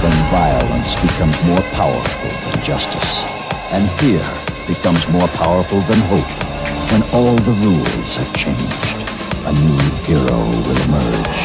when violence becomes more powerful than justice, and fear becomes more powerful than hope. When all the rules have changed, a new hero will emerge.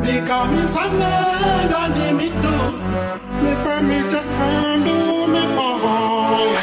They call me Sangha, got me too. Me permit to handle me boy.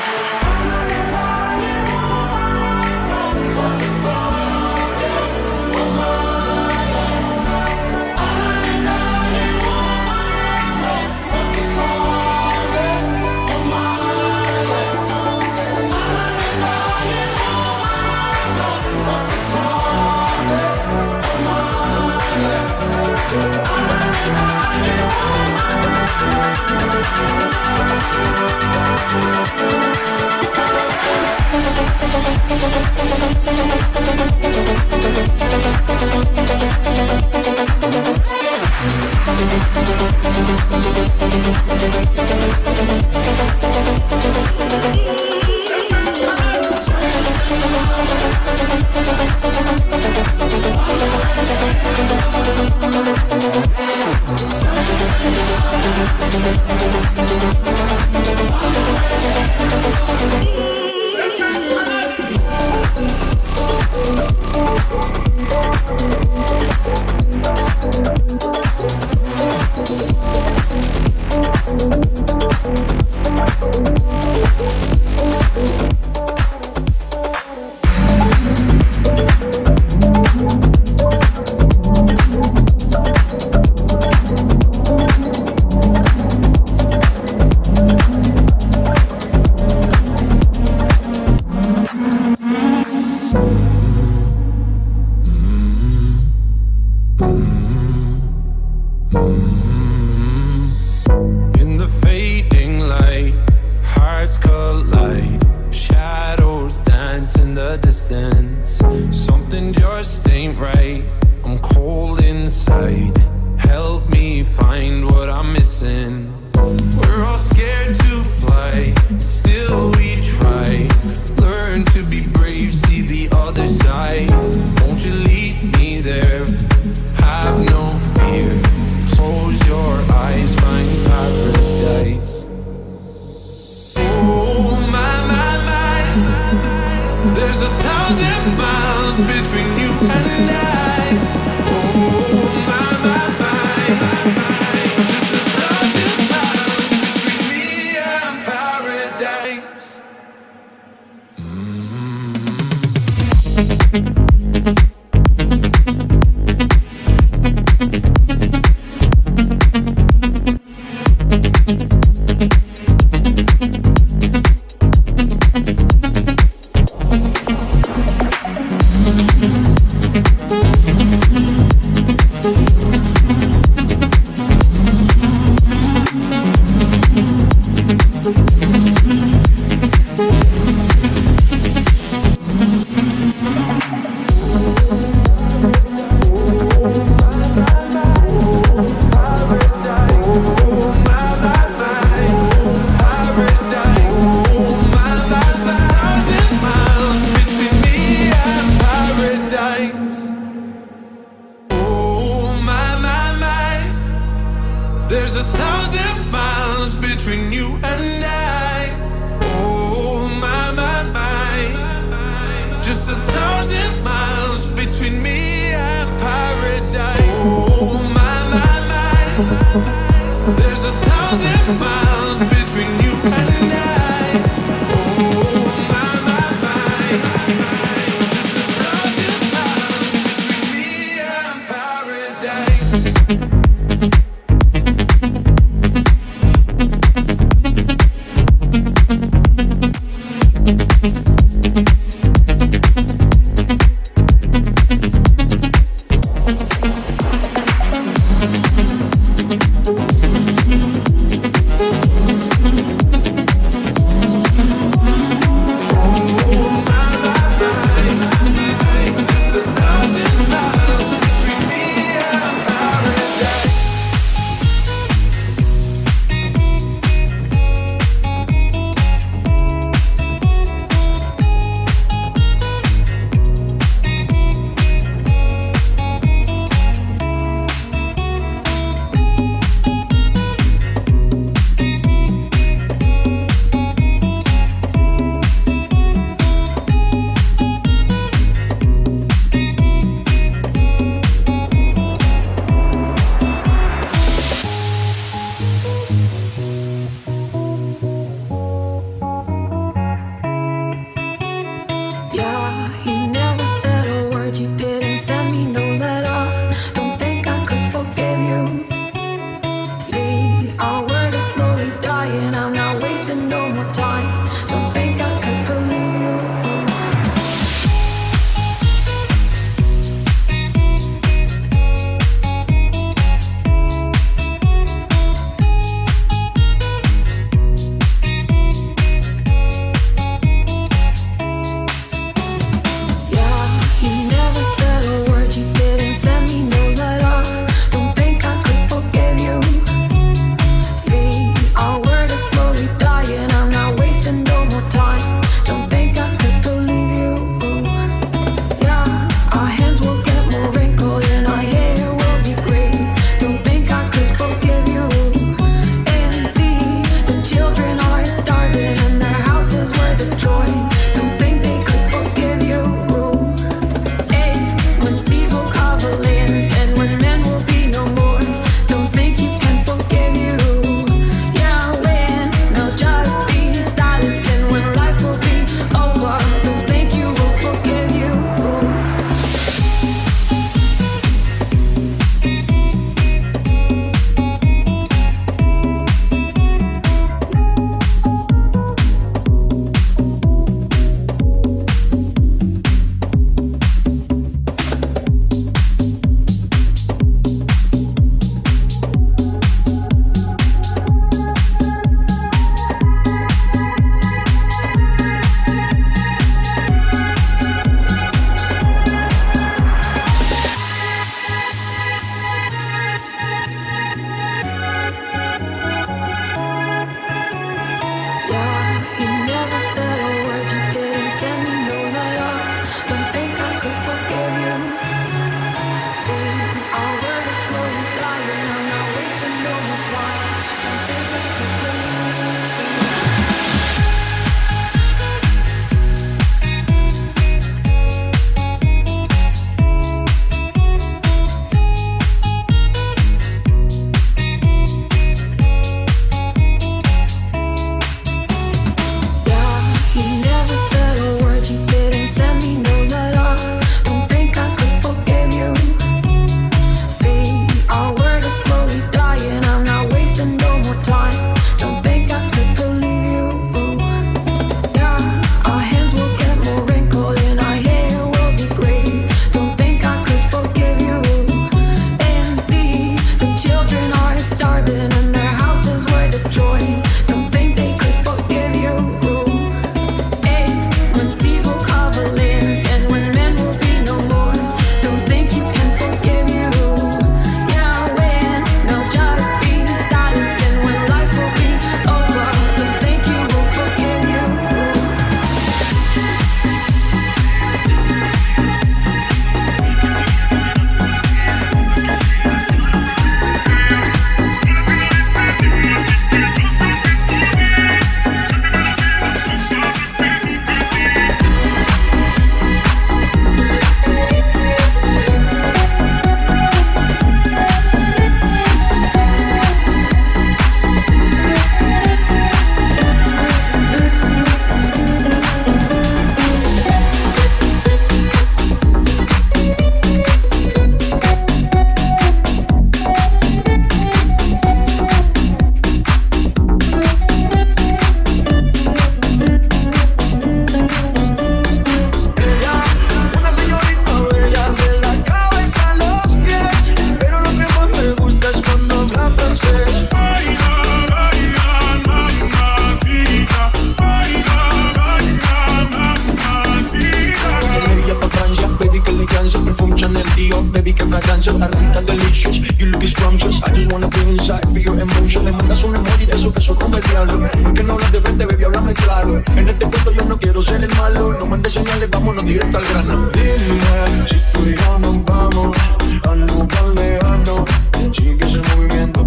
wanna be inside, feel your emotion. Le mandas un emoji de eso que soy como el diablo. Que no hablas de frente, baby, háblame claro. En este cuento yo no quiero ser el malo. No mandes señales, vámonos directo al grano. Dime si tú y yo nos vamos a lugar lejano. Sigue ese movimiento,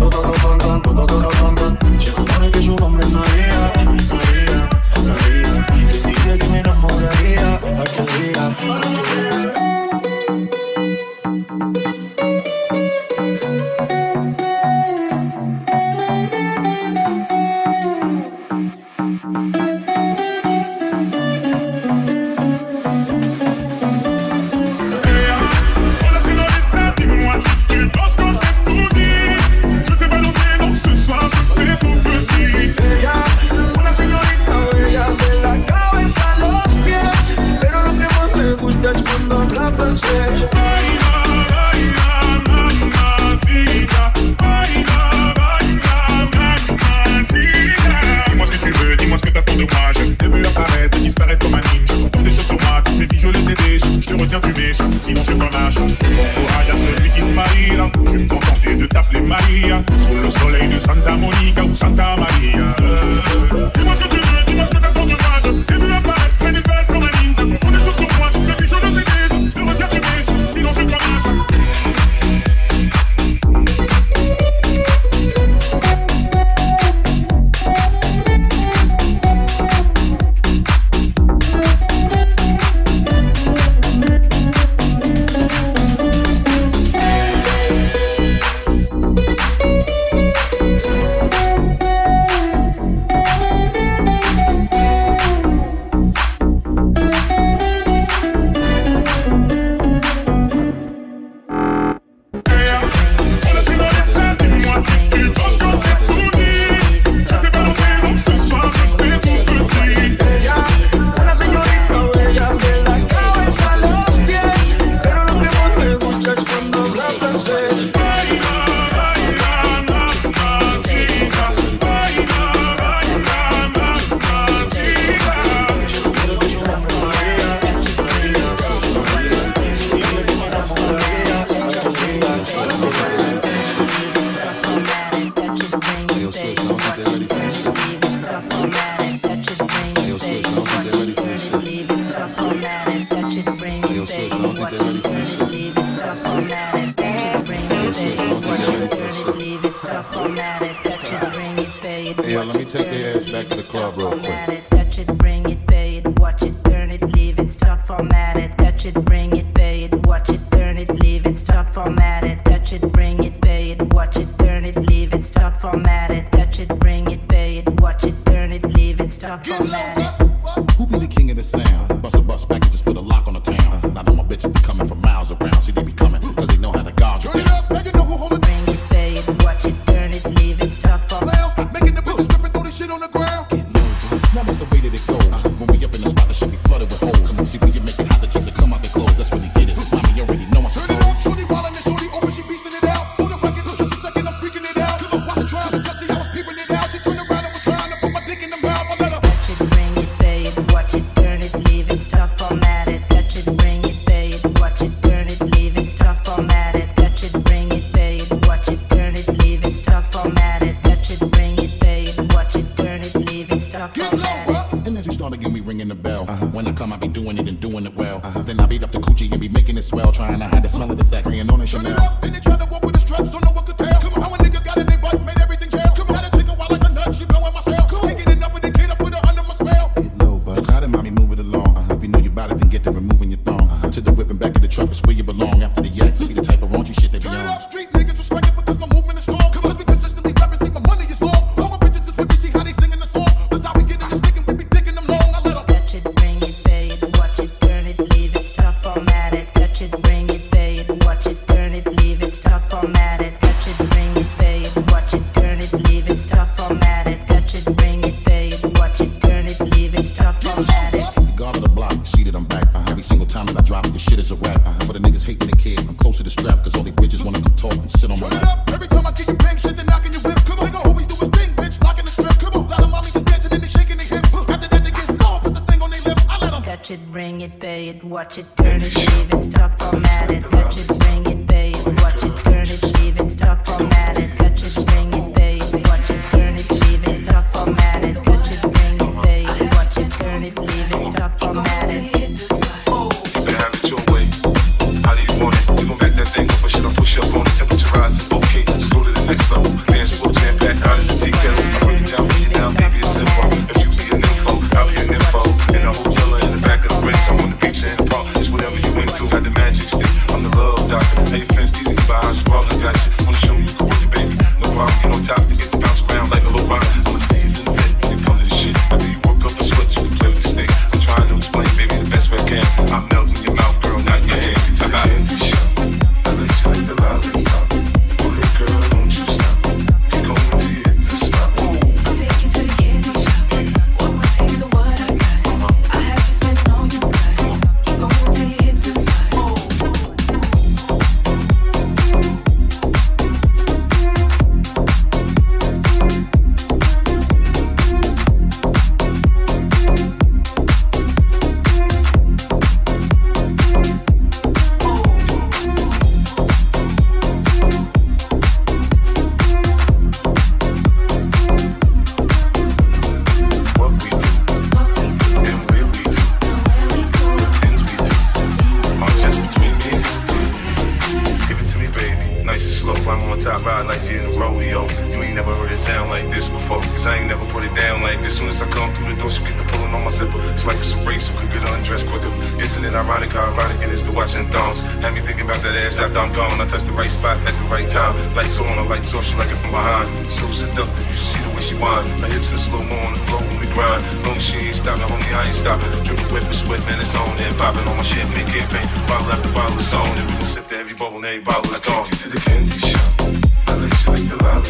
se supone que su nombre es María, María, María. Y dije que me enamoraría aquel día. Sinon c'est un âge. Bon courage à celui qui te mariera. Je vais me contenter de t'appeler Maria. Sous le soleil de Santa Monica ou Santa Maria. Dis-moi ce que tu veux, dis-moi ce que t'as pour courage. Et vu apparaître, fais disparaître comme un ninja. On est tous sur moi, tu me fais, je le sais déjà. Je te retiens, tu baises, sinon c'est un âge. Hey, let me take their ass back to the club real quick. Touch it, bring it, pay it, watch it, turn it, leave it, start format it. Touch it, bring it, pay it, watch it, turn it, leave it, start format it. Touch it, bring it, pay it, watch it, turn it, leave it, start format it. Touch it, bring it, pay it, watch it, turn it, leave it, start format it. Who be the king of the sound? Bust a bus back and just put a lock on the town. Now all my bitches be coming from miles around. See, they be coming cause they know how to gouge you down. Make it know who hold it. Bring it, pay it, watch it, turn it, leave it, start format it. Making the bitches strip and throw this shit on the ground. Get low, now that's the way that it goes. When we up in the spot, the shit be flooded with holes. See, when you make it hot, the chicks that come out their clothes. That's when they get it. Mommy already know I'm supposed. Turn it on, shorty, while I'm in shorty open, she beastin' it out. Hold the record, just a second, I'm freaking it out. Cause I'm watching trying to touch it, I was peeping it out. She turned around and was trying to put my dick in the mouth. I let her Touch it, bring it, pay it, watch it, turn it, leave it, start format it. Touch it, bring it, pay it, watch it, turn it, leave it, start format it. Touch it, bring it, pay it, watch it, turn it, leave it, start format it. Touch it, bring it, pay it, watch it, turn it, leave it, start get format low, it. bruh. And as we start again, we ringing the bell. When I come, I be doing it and doing it well. Then I beat up the coochie and be making it swell. Trying to hide the smell of the sex, and on in Turn it Chanel. up, and they try to walk with the straps, so no one could tell. Come on, how a nigga got in their butt, made everything jail. Come on, had to take a while like a nut, she blowing my cell. Ain't get enough of the kid, I put her under my spell. Get low, bud. How did mommy move it along? If you know you bout it, then get to removing your thong. To the whip and back of the truck is where you belong. After the yak, see the type of raunchy shit they be Turn it on. up, street niggas respect it because my movement is strong. Come on, we consistently rapping, see my money is long. All my bitches is with me, see how they singing the song. That's how we get in the stick and we be digging them long. I let them Touch it, bring it, pay it, watch it, turn it, leave it, start format it. Touch it, bring it, pay it, watch it, turn it, leave it, start format it. Touch it, bring it, pay it, watch it, turn it, leave it, start format it. Touch it, bring it, pay it, watch it, turn it, leave it, start format it. Guard of the block, see that I'm back. Every single time that I drop it, this shit is a rap. For the niggas hating the kid, I'm close to the strap. Cause all these bitches wanna come talk and sit on my turn it lap. up. Every time I get you bang shit, then knocking your whip. Come on, nigga, always do his thing, bitch, locking the strip. Come on, lot of mommy just dancing and they shaking their hip. After that, they get slow, put the thing on their lip. I let them Touch it, bring it, pay it, watch it, turn it, leave it, start format it. Touch it, bring it, pay it, watch it, turn it, leave it, start format it. Touch whiskey in the rodeo. You ain't never heard it sound like this before, cause I ain't never put it down like this. Soon as I come through the door, she get the pulling on my zipper. It's like it's a race, who could get undressed quicker. Isn't it ironic how ironic it is to watching thongs? Had me thinking about that ass after I'm gone. I touch the right spot at the right time. Lights on, or lights off, she like it from behind. So seductive, you should see the way she whine. My hips are slow-mo on the floor when we grind. Long as she ain't stopping, homie, I ain't stopping. Dripping wet with sweat, man, it's on and popping on my shit. Make campaign, bottle after bottle, it's on. And we gon' sip to every bubble and every bottle is gone. I take you to the candy shop. I let you like the lolly.